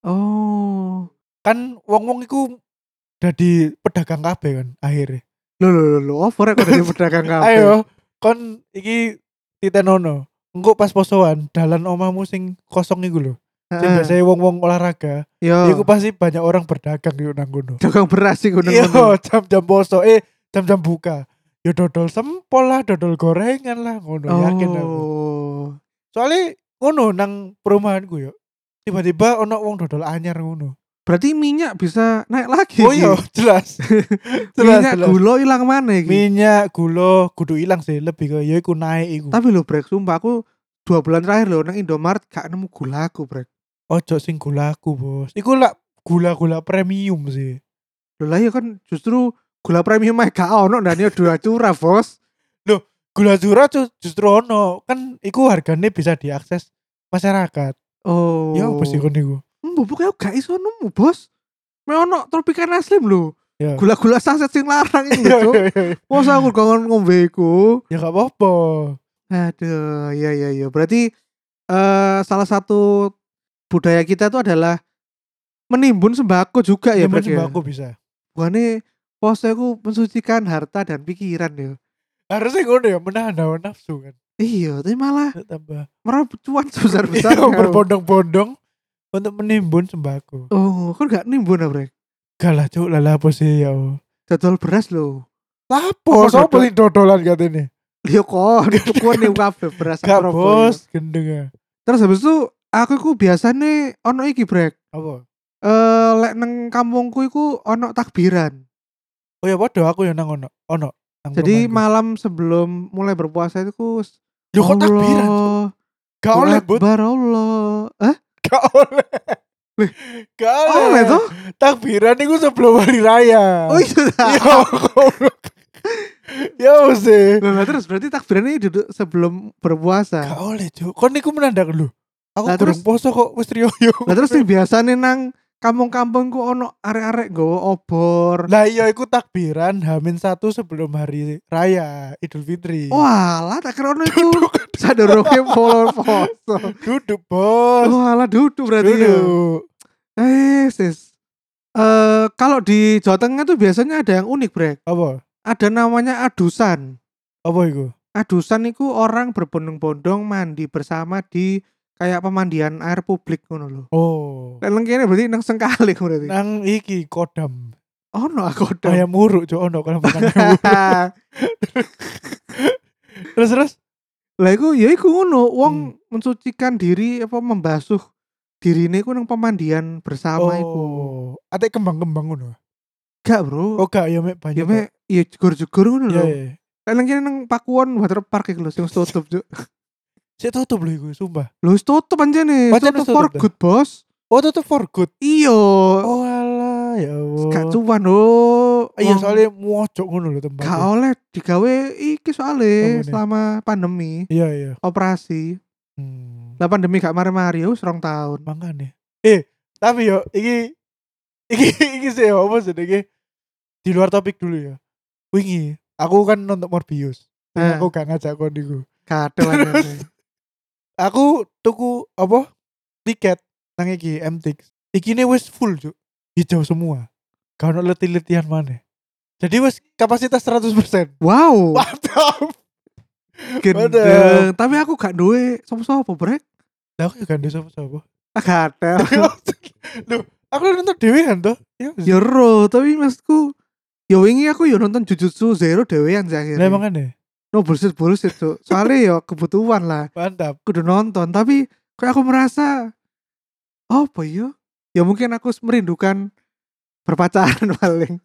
Oh. Kan wong-wong iku dadi pedagang kabeh kan akhirnya. Loh loh loh, loh. Over kok dari pedagang kabeh. Ayo, kon iki titenono. Engko pas posoan dalan omahmu sing kosong iku lho. Sing Heeh. biasanya wong-wong olahraga, Yo. iku pasti banyak orang berdagang yo nang kono. Dagang beras sih gunung Iya, jam-jam poso, eh jam-jam buka. Ya dodol sempol lah, dodol gorengan lah, ngono yakin aku. Oh. Soalnya ngono nang perumahanku yo. Tiba-tiba ono wong dodol anyar ngono. Berarti minyak bisa naik lagi. Oh iya, jelas. jelas, Minyak jelas. gula hilang mana iki? Minyak, gula, kudu ilang sih, lebih ke ya iku naik iku. Tapi lo Brek, sumpah aku dua bulan terakhir lo nang Indomaret gak nemu gulaku, Brek. Ojo sing gulaku, Bos. Iku lah gula-gula premium sih. Lho lah ya kan justru gula premium mah gak ono dan ya dua curah, Bos. Gula curah ju- justru ono, kan iku harganya bisa diakses masyarakat. Oh. Ya apa sih kon iku? Mbok pokoknya gak iso nemu, Bos. Me ono Tropicana Slim lho. Ya. Gula-gula saset sing larang iki Ya, lho. Cuk. ya, ya. Masa aku gak ngombe iku. Ya gak apa-apa. Aduh, iya iya iya. Berarti eh salah satu budaya kita itu adalah menimbun sembako juga ya, Nyimpen Brek ya. sembako bisa. Buane pose aku mensucikan harta dan pikiran ya. Harusnya ngono ya, menahan hawa nafsu kan. Iya, tapi malah Tambah meraup cuan sebesar-besar. Iya, berbondong-bondong untuk menimbun sembako. Oh, kok gak nimbun ah, Brek? Gak lah cuk, lah apa sih ya. Dodol beras lho. Lapo, Apa sopo dodol? sing dodolan katanya. Liyo kok, tukuan nih kabeh beras Gak Surabaya. bos, gendeng ya. Terus habis itu aku ku biasane ono iki, Brek. Apa? Eh lek nang kampungku iku ono takbiran. Oh ya podo aku ya nang ono. Ono. nang Jadi perumahanku. malam sebelum mulai berpuasa itu ku Loh kok takbiran? Cuk? Gak Allahu oleh, Bud. Akbar Allah. Hah? Gak oleh. Wih. Gak oleh. Oleh tuh? Takbiran itu sebelum hari raya. Oh iya. Ya goblok. Ya sih. Lah terus berarti takbiran ini duduk sebelum berpuasa. Gak oleh, Cuk. Kon niku menandak lho. Aku Lah, kurang terus- poso kok wis riyo-riyo. Lah terus sing biasane nang kampung-kampungku ono arek-arek nggawa obor. Lah iya iku takbiran Hamin satu sebelum hari raya Idul Fitri. Walah tak kira ono iku sadurunge poso. Duduk, Bos. Walah duduk berarti ya. Duduk. Eh, sis. Eh kalau di Jawa Tengah tuh biasanya ada yang unik, Brek. Apa? Ada namanya adusan. Apa iku? Adusan itu orang berbondong-bondong mandi bersama di kayak pemandian air publik ngono lho. Oh. Lek nang kene berarti nang Sengkali berarti. Nang iki Kodam. Ono aku dong. Ayam uruk cuk ono kalau makan ayam uruk. Terus terus Lah iku ya iku ngono, wong Hmm. mensucikan diri apa membasuh dirine iku nang pemandian bersama iku. Oh, ate kembang-kembang ngono. Gak, Bro. Oh gak ya mek banyu Ya tok. mek ya jegur-jegur ngono Iya lho. iya. Lah nang kene nang Pakuwon water park iku lho sing wis tutup, Cuk. Sik tutup lho iku, sumpah. Lho wis tutup anjene, wis Pancen tutup wis for tutup dah? good, Bos. Oh tutup for good. Iya. Oh alah ya Gak Allah. cuan lho. Iya Wong soalnya mojok ngono lho gak tempatnya. oleh digawe iki soalnya Apa nih? selama pandemi Iya iya. operasi. Hmm. Lah pandemi gak mari-mari ya wis rong tahun. Makane. Eh, tapi yo iki iki iki sih yo, apa sih iki di luar topik dulu ya. Wingi, aku kan nonton Morbius. Sing Eh. aku gak ngajak kon iku. Kadel anjene. Aku tuku apa? Tiket nang iki M T X. Iki ne wis full, Cuk. Hijau semua. Gak ono leti-letian maneh. Jadi wis kapasitas seratus persen. Wow. Mantap. Gendeng. Tapi aku gak duwe sapa-sapa, Brek. Lah aku juga ndek sapa-sapa. Ah, kadel. Loh, aku nonton dhewean toh. Ya. Ya ro, tapi maksudku ya wingi aku yo nonton Jujutsu Zero dhewean sih Lah akhirnya. emangane. No bullshit bullshit tuh. Soalnya yo kebutuhan lah. Mantap. Kudu nonton, tapi kayak aku merasa apa ya? Ya mungkin aku merindukan berpacaran paling.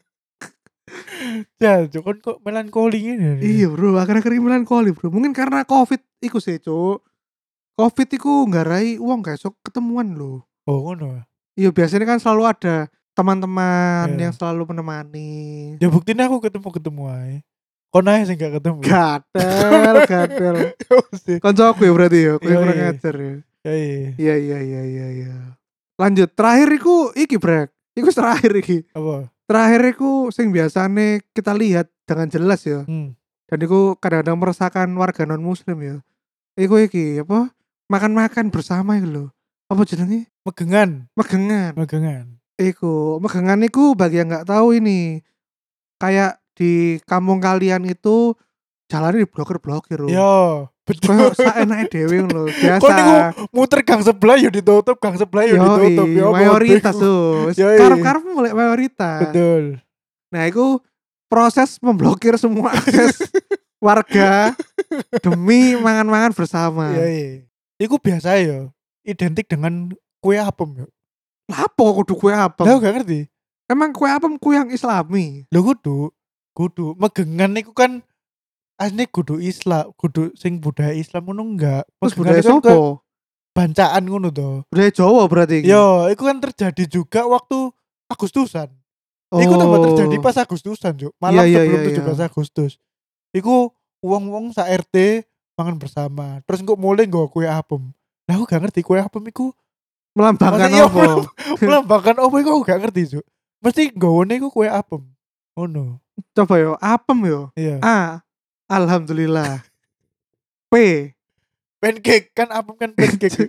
Ya, Cuk, kon kok melankoli ngene. Iya bro, akhir-akhir ini melankoli bro. Mungkin karena covid iku sih cuk. Covid iku nggarai uang gak sok ketemuan loh. Oh, ngono. Iya biasanya kan selalu ada teman-teman Iya. yang selalu menemani. Ya buktinya aku ketemu-ketemu ae. Kon ae sing gak ketemu. Gadel, gadel. Ya mesti. Koncoku ya berarti ya, kowe Iya, kurang iya. ngajar ya. Ya iya. Iya iya iya iya iya. Lanjut, terakhir iku iki brek. Iku terakhir iki. Apa? Terakhir iku sing biasane kita lihat dengan jelas ya. Hmm. Dan iku kadang-kadang meresahkan warga non muslim ya. Iku iki apa? Makan-makan bersama iku lho. Apa jenenge? Megengan. Megengan. Megengan. Iku, megengan iku bagi yang nggak tahu ini. Kayak di kampung kalian itu jalannya diblokir-blokir loh. Yo, betul. Kayak saenake dhewe ngono lho. Biasa. Kok niku muter gang sebelah yo ditutup, gang sebelah yo Yoi, ditutup. Ya apa, mayoritas Bego. tuh. Yoi. Karep-karep mulai mayoritas. Betul. Nah, itu proses memblokir semua akses warga demi mangan-mangan bersama. Iya iya. Iku biasa yo. Identik dengan kue apem yo. Lapo kudu kue apem? Lah gak ngerti. Emang kue apem kue yang islami? Lho kudu, kudu megengan niku kan asline kudu Islam, kudu sing budaya Islam ngono enggak. Terus Megengan budaya itu kan sopo? bancaan ngono to. Budaya Jawa berarti iki? Yo, itu kan terjadi juga waktu Agustusan. Iku tambah terjadi pas Agustusan, Juk. Malam Iya, iya, sebelum iya, tujuh belas iya. Agustus. Iku wong-wong sa R T mangan bersama. Terus kok mulai nggo kue apem. Lah aku gak ngerti kue apem iku Melambangkan maksudnya apa? melambangkan apa iku aku gak ngerti, Juk. Mesti nggone iku kue apem. Ngono. Coba yo, apem yo. Iya. A. Alhamdulillah. P. Pancake kan apem kan pancake.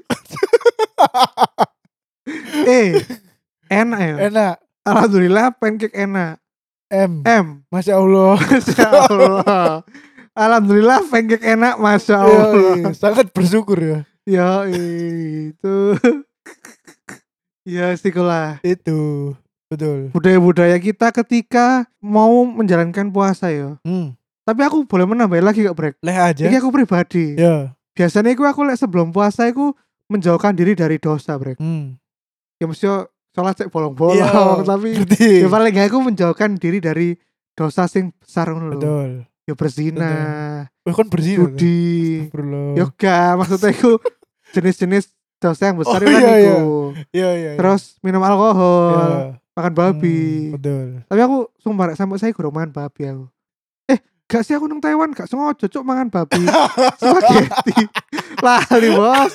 E. Enak ya. Enak. Alhamdulillah pancake enak. M. M. Masya Allah. Masya Allah. Alhamdulillah pancake enak, masya Allah. Yoi, sangat bersyukur ya. Ya itu. Ya sikolah. Itu betul. Budaya-budaya kita ketika mau menjalankan puasa ya. Hmm. Tapi aku boleh menambah lagi kak Brek. Leh aja. Ini aku pribadi. Ya. Biasanya aku aku lek sebelum puasa aku menjauhkan diri dari dosa Brek. Hmm. Ya mesti sholat cek bolong-bolong Iya, tapi ngerti. ya paling gak aku menjauhkan diri dari dosa sing besar ngono lho. Betul. Ya berzina, Wah kan bersih. judi. Astagfirullah. Ya gak, maksudnya aku jenis-jenis dosa yang besar Oh, itu kan iya, iku. iya. Iya iya. iya. Terus minum alkohol, Iya. makan babi. Hmm, betul. Tapi aku sumpah rek, sampai saya kurang mangan babi aku. Eh, gak sih aku nang Taiwan gak sengaja cuk mangan babi. Spaghetti. Lali, Bos.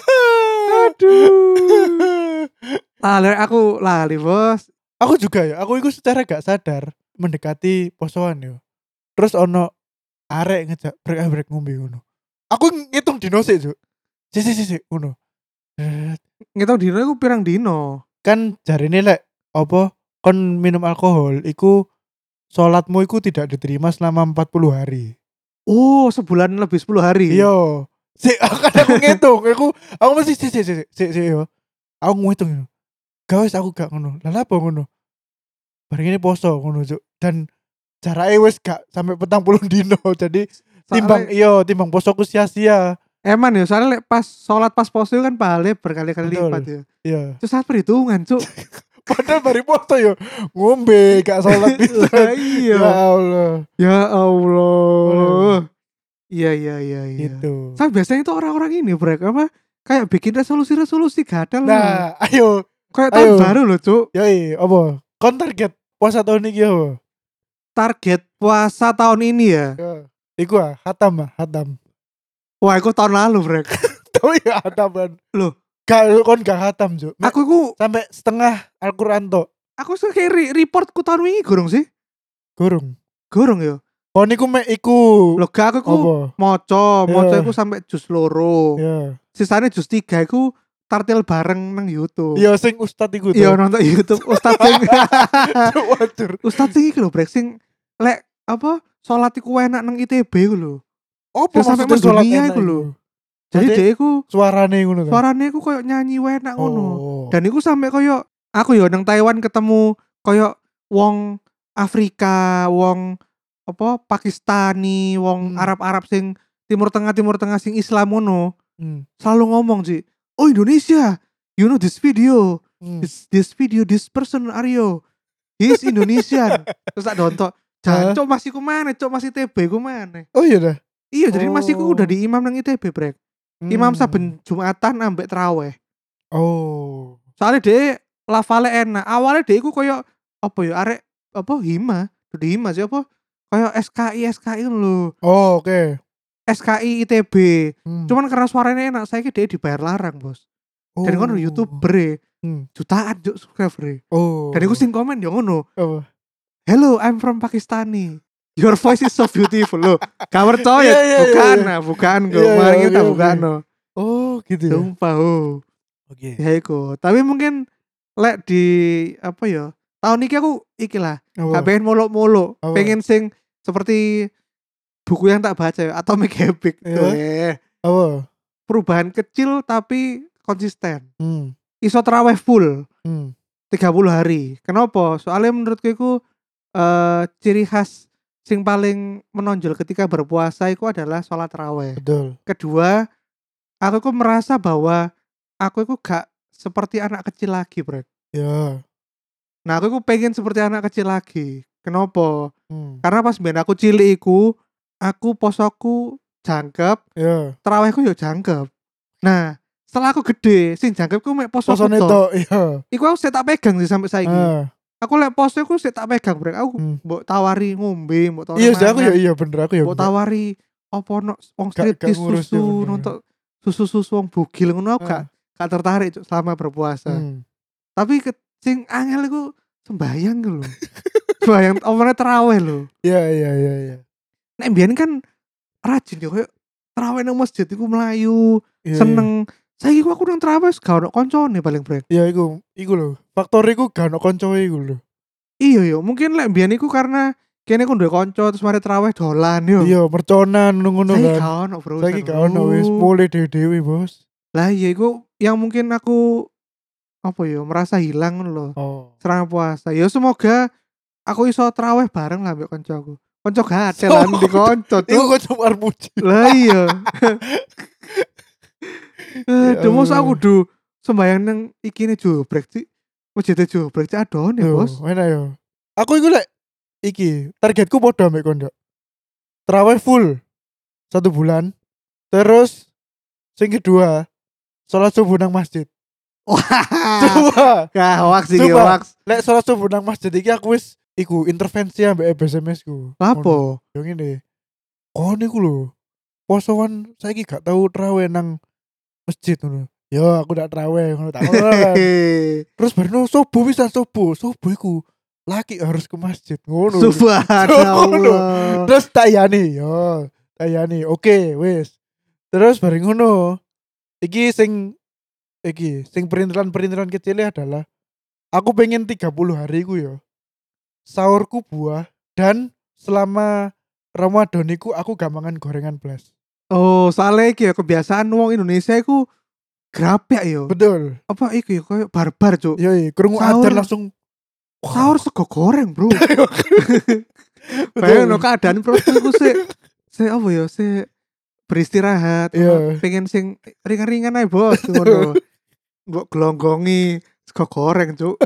Aduh. Lali aku lali, Bos. Aku juga ya. Aku itu secara gak sadar mendekati posoan yo. Terus ono arek ngejak brek brek ngombe ngono. Aku ngitung dino sik, Juk. Sik sik sik ngono. Set. Ngitung dino aku pirang dino. Kan jarine lek apa kon minum alkohol iku salatmu iku tidak diterima selama empat puluh hari. Oh, sebulan lebih sepuluh hari. Iya. Sik kan aku ngitung, aku aku mesti sik sik sik sik sik yo. Aku ngitung yo. Gawes aku gak ngono. Lah apa ngono? bareng ini poso ngono Cuk. Dan jarake wis gak sampai petang puluh dino. Jadi timbang Soalnya iya timbang posoku sia-sia. eman ya, soalnya lek pas sholat pas poso kan pahalanya berkali-kali lipat Betul. ya. Iya. Terus saat perhitungan, Cuk. Padahal bari poso yo ngombe gak sholat bisa. Lah iya. Ya Allah. Ya Allah. Iya iya iya iya. Gitu. Saya biasanya itu orang-orang ini brek apa kayak bikin resolusi-resolusi gadal loh. Nah, ayo. Kayak ayo. tahun baru loh, Cuk. Yoi, apa? Kon target puasa tahun ini apa? Target puasa tahun ini ya. Ya. Iku ah, hatam ah, hatam. Wah, aku tahun lalu, brek. Tahu ya hataman. Loh, Gak kon gak hatam, Cuk. Mek aku ku sampai setengah Al-Qur'an tok. aku sih kayak re- reportku tahun ini gorong sih. Gurung. Gorong ya. Kon iku mek iku. Loh, gak aku ku Apa? moco, Ya. moco aku sampai jus loro. Ya. Sisanya jus tiga aku tartil bareng nang YouTube. Iya sing ustad iku Iya tuh. nonton YouTube Ustadz sing Wajar. Ustadz sing iki lho brek sing lek apa salat iku enak nang I T B iku lho. Apa Terus sampai maksudnya sholat mendunia enak iku lho. Jadi Berarti dia iku suarane ngono kan. suarane iku koyo nyanyi enak ngono. Oh. Dan iku sampai koyo aku yo nang Taiwan ketemu koyo wong Afrika, wong apa Pakistani, wong Hmm. Arab-Arab sing Timur Tengah Timur Tengah sing Islam ngono. Hmm. Selalu ngomong sih, "Oh Indonesia, you know this video. Hmm. This, this video this person Aryo. He's Indonesian." Terus tak dontok, Hah? "Jancuk masih ku mana? Cok masih T B ku mana?" Oh iya dah. Iya, jadi masih ku Oh. udah di imam nang I T B, Brek. Imam Hmm. saben Jumatan ambek traweh. Oh. Soalnya dia lafale enak. Awalnya dia iku koyo apa ya arek apa hima, di hima sih apa? Kayak S K I S K I lho. Oh, oke. S K I I T B. Hmm. Cuman karena suaranya enak, saya dia dibayar larang, Bos. Dan kan Oh. YouTuber e, Hmm. jutaan juk subscriber. Oh. Dan aku sing komen ya ngono. Apa? "Hello, I'm from Pakistani. Your voice is so beautiful." Loh, gak percaya. Iya, iya, bukan, iya. nah, bukan kok. Iya, Mari iya, kita oke, bukan oke. no. Oh, gitu ya. Sumpah, oh. Oke. Ya iku. Tapi mungkin lek di apa ya? Tahun ini aku iki lah. Gak Apa? pengen molok-molok. Apa? Pengen sing seperti buku yang tak baca ya, Atomic Habit. Iya. Eh, Apa? perubahan kecil tapi konsisten. Hmm. Iso terawih full Hmm. tiga puluh hari. Kenapa? Soalnya menurutku itu eh, ciri khas sing paling menonjol ketika berpuasa itu adalah sholat tarawih. Betul. Kedua, aku ku merasa bahwa aku itu gak seperti anak kecil lagi, Brek. Ya. Nah, aku ku pengen seperti anak kecil lagi. Kenapa? Hmm. Karena pas ben aku cilik iku, aku posoku jangkep, Ya. tarawihku yo jangkep. Nah, setelah aku gede, sing jangkepku mek poso Posone tok. tok, iya. Iku aku sik tak pegang sih sampai saiki. Ah. Aku lek poso aku sik tak pegang, Brek. Aku Hmm. mbok tawari ngombe, mbok tawari Iya sih aku ya mangan, iya bener aku ya. mbok bener. tawari apa no wong Gak- gak striptis ngurus susu, ya bener. nonton susu-susu wong bugil ngono aku gak Ah. gak tertarik Cuk, selama berpuasa. Hmm. Tapi ke, sing angel iku sembayang ku lho. Sembayang omone tarawih lho. Iya iya iya iya. Nek mbiyen kan rajin ya koyo tarawih nang masjid iku melayu, Iya, seneng. Saiki ku aku nang tarawih gak ono koncone paling Brek. Iya iya, iku iku lho. Faktor iku gak ono koncoe iku lho. Iya yo, mungkin lek mbiyen iku karena kene ku duwe kanca terus mari tarawih dolan yo. Iya, merconan ngono Saiki kan. gak ono, Bro. Saiki gak ono wis mulai dewe-dewe, Bos. Lah iya iku yang mungkin aku apa ya merasa hilang ngono lho. Oh. Selama puasa. Ya semoga aku iso tarawih bareng lah mbek kancaku. Kanca gatel lan di kanca Iku tuh. kok cuma armuji. Lah iya. Ya Aduh, mosok aku Allah. kudu sembayang nang ikine jubrek sih. Masjid jubrek sih adon ya, Yo, Bos. enak yo. Aku iku lek iki targetku padha ambek kondo. Tarawih full satu bulan. Terus sing kedua sholat subuh nang masjid. Coba. Kah hoax iki Coba. hoax. Lek sholat subuh nang masjid iki aku wis iku intervensi ambek B S M S ku. Lapo? Yo ngene. Kon iku lho. Posoan saiki gak tau tarawih nang masjid ngono. Yo aku ndak tarawih ngono tak ngono kan. Terus barno subuh bisa subuh. Subuh iku laki harus ke masjid ngono. Ngono. Subhanallah. Terus tayani yo, tayani. Oke, wis. Terus bareng ngono. Iki sing iki sing perintilan-perintilan kecilnya adalah aku pengen tiga puluh hari ku yo. Sahurku buah dan selama Ramadan iku aku gak mangan gorengan blas. Oh, soalnya iki ya kebiasaan wong Indonesia iku grapyak yo. Betul. Apa iku ya koyo barbar, Cuk. Yo, krungu Sahur. adzan langsung Sahur sego goreng, Bro. Bayang no keadaan perutku iku sik sik apa ya, sik beristirahat, Iya. pengen sing ringan-ringan ae, Bos, ngono. Mbok glonggongi sego goreng, Cuk.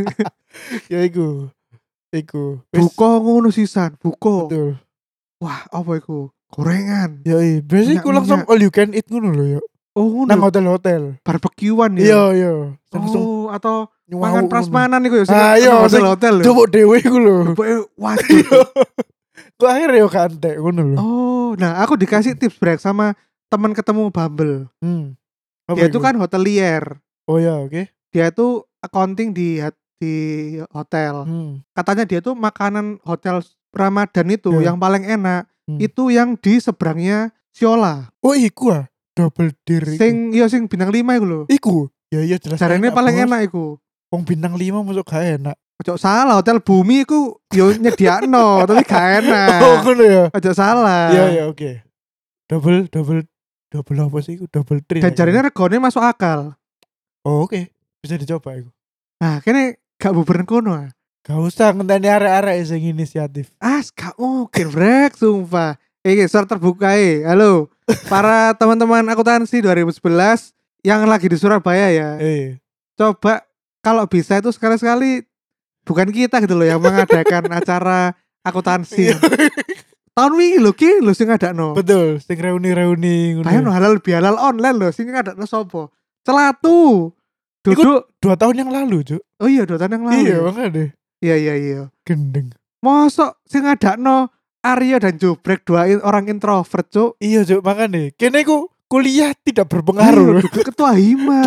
Ya iku. Iku. Wis, Buka ngono sisan, buka. betul. Wah, apa iku? Gorengan. Ya iya, biasanya iku langsung Minyak-minyak. all you can eat ngono lho ya. Oh, Nang ngono. hotel-hotel. Barbekyuan ya. Iya, iya. Langsung Oh, atau nyuwau mangan ngono. prasmanan iku ya sing Ah, iya, hotel sing hotel lho. Coba dhewe iku lho. Pokoke waduh. Kok akhirnya yo kantek ngono lho. Oh, nah aku dikasih tips break sama teman ketemu Bumble. Hmm. Apa Dia itu iku? kan hotelier. Oh ya, oke. Dia itu accounting di di hotel. Hmm. Katanya dia tuh makanan hotel Ramadan itu Ya. yang paling enak Hmm. itu yang di seberangnya Siola. Oh iku ah, double deer iku. Sing iya sing bintang lima iku lho. Iku. Ya iya jelas. Jarene paling Bos. enak iku. Wong bintang lima masuk gak enak. Ojo salah, hotel Bumi iku yo nyediakno tapi gak enak. Oh ngono ya. Ojo salah. Iya iya oke. Double double double apa sih iku? Double tree. Dan jarine regane masuk akal. Oh oke. Bisa dicoba iku. Nah, kene gak bubaran kono. Ah, Gak usah ngenteni arek-arek sing inisiatif. ah gak mungkin brek sumpah. Iki suara terbuka eh. Halo, para teman-teman akuntansi dua ribu sebelas yang lagi di Surabaya ya. Eh. Coba kalau bisa itu sekali-sekali bukan kita gitu loh yang mengadakan acara akuntansi. Tahun wingi lho ki lho sing ngadakno. Betul, sing reuni-reuni ngono. Bayang halal bihalal online lho sing ngadakno sapa? Celatu. Duduk Dua tahun yang lalu, Cuk. oh iya dua tahun yang lalu. Iya, makanya. Iya iya iya. Gendeng. Mosok sing ngadakno Arya dan Jobrek dua in- orang introvert, Cuk. Iya, Cuk, makanya. Kene ku kuliah tidak berpengaruh. Ayo, duduk ketua hima.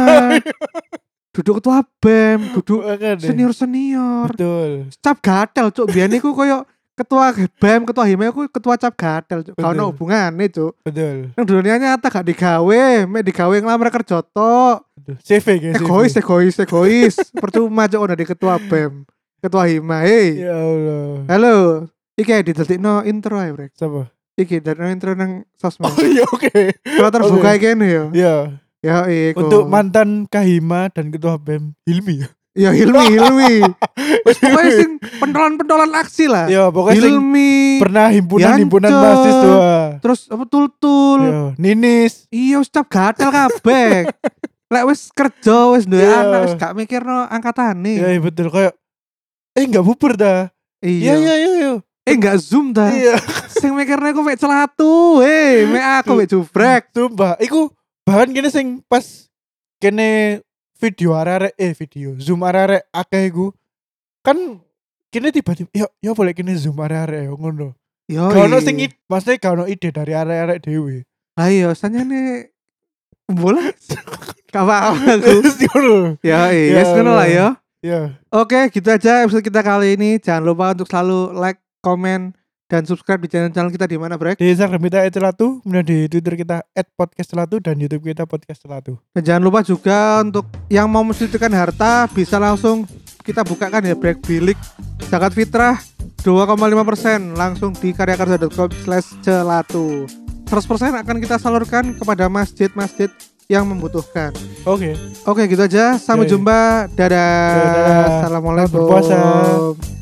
Duduk ketua B E M, duduk Makanya. senior-senior. Betul. Cap gatel, Cuk. Biyen iku koyo ketua B E M, ketua hima iku ketua cap gatel, Cuk. Gak ono Betul. hubungane, Cuk. Betul. Nang dunia nyata gak digawe, mek digawe nglamar kerja tok. Betul. C V guys. Egois, egois, egois. Percuma Cuk ono di ketua B E M, ketua hima. Hei. Ya Allah. Halo. Iki didadekno intro ae, Brek. Siapa? Iki didadekno intro nang sosmed. Oh iya, oke. Kalau terbuka Oke. kene ya. Ya. Ya iku. Untuk mantan Kahima dan ketua B E M Hilmi ya. Ya Hilmi, Hilmi. Wis pokoke sing pentolan-pentolan aksi lah. Ya, pokoknya sing Hilmi. pernah himpunan-himpunan Yancep. mahasiswa. Terus apa tul-tul. Ya, Ninis. Iya wis cap gatel kabeh. Lek wis kerja wis duwe Iya. anak wis gak mikirno angkatane. Ya, iya, betul kayak eh enggak bubur dah. Iya, iya, iya, iya. Eh enggak zoom dah. Iya. Sing mikirne aku mek celatu. Eh, mek aku mek jubrek. Sumpah, iku bahkan kene sing pas kene video arek-arek eh video zoom arek-arek akeh iku kan kene tiba-tiba ya ya boleh kene zoom arek-arek ya ngono. Yo. Gak ono sing ide, maksudnya gak ono ide dari arek-arek dhewe. Lah iya sanyane bola. Gak apa-apa aku. Terus ngono. Ya, Ya yes ngono lah ya. Ya. Oke, gitu aja episode kita kali ini. Jangan lupa untuk selalu like, komen, dan subscribe di channel-channel kita di mana, Brek. Di Instagram kita et celatu, kemudian di Twitter kita et podcast celatu dan YouTube kita podcast celatu. Dan jangan lupa juga untuk yang mau mensucikan harta bisa langsung kita bukakan ya Brek Bilik zakat fitrah dua koma lima persen langsung di karyakarsa dot com slash celatu. seratus persen akan kita salurkan kepada masjid-masjid yang membutuhkan. Oke. Oke, gitu aja. Sampai Oke. jumpa. Dadah. Dadah. Assalamualaikum. Selamat berpuasa.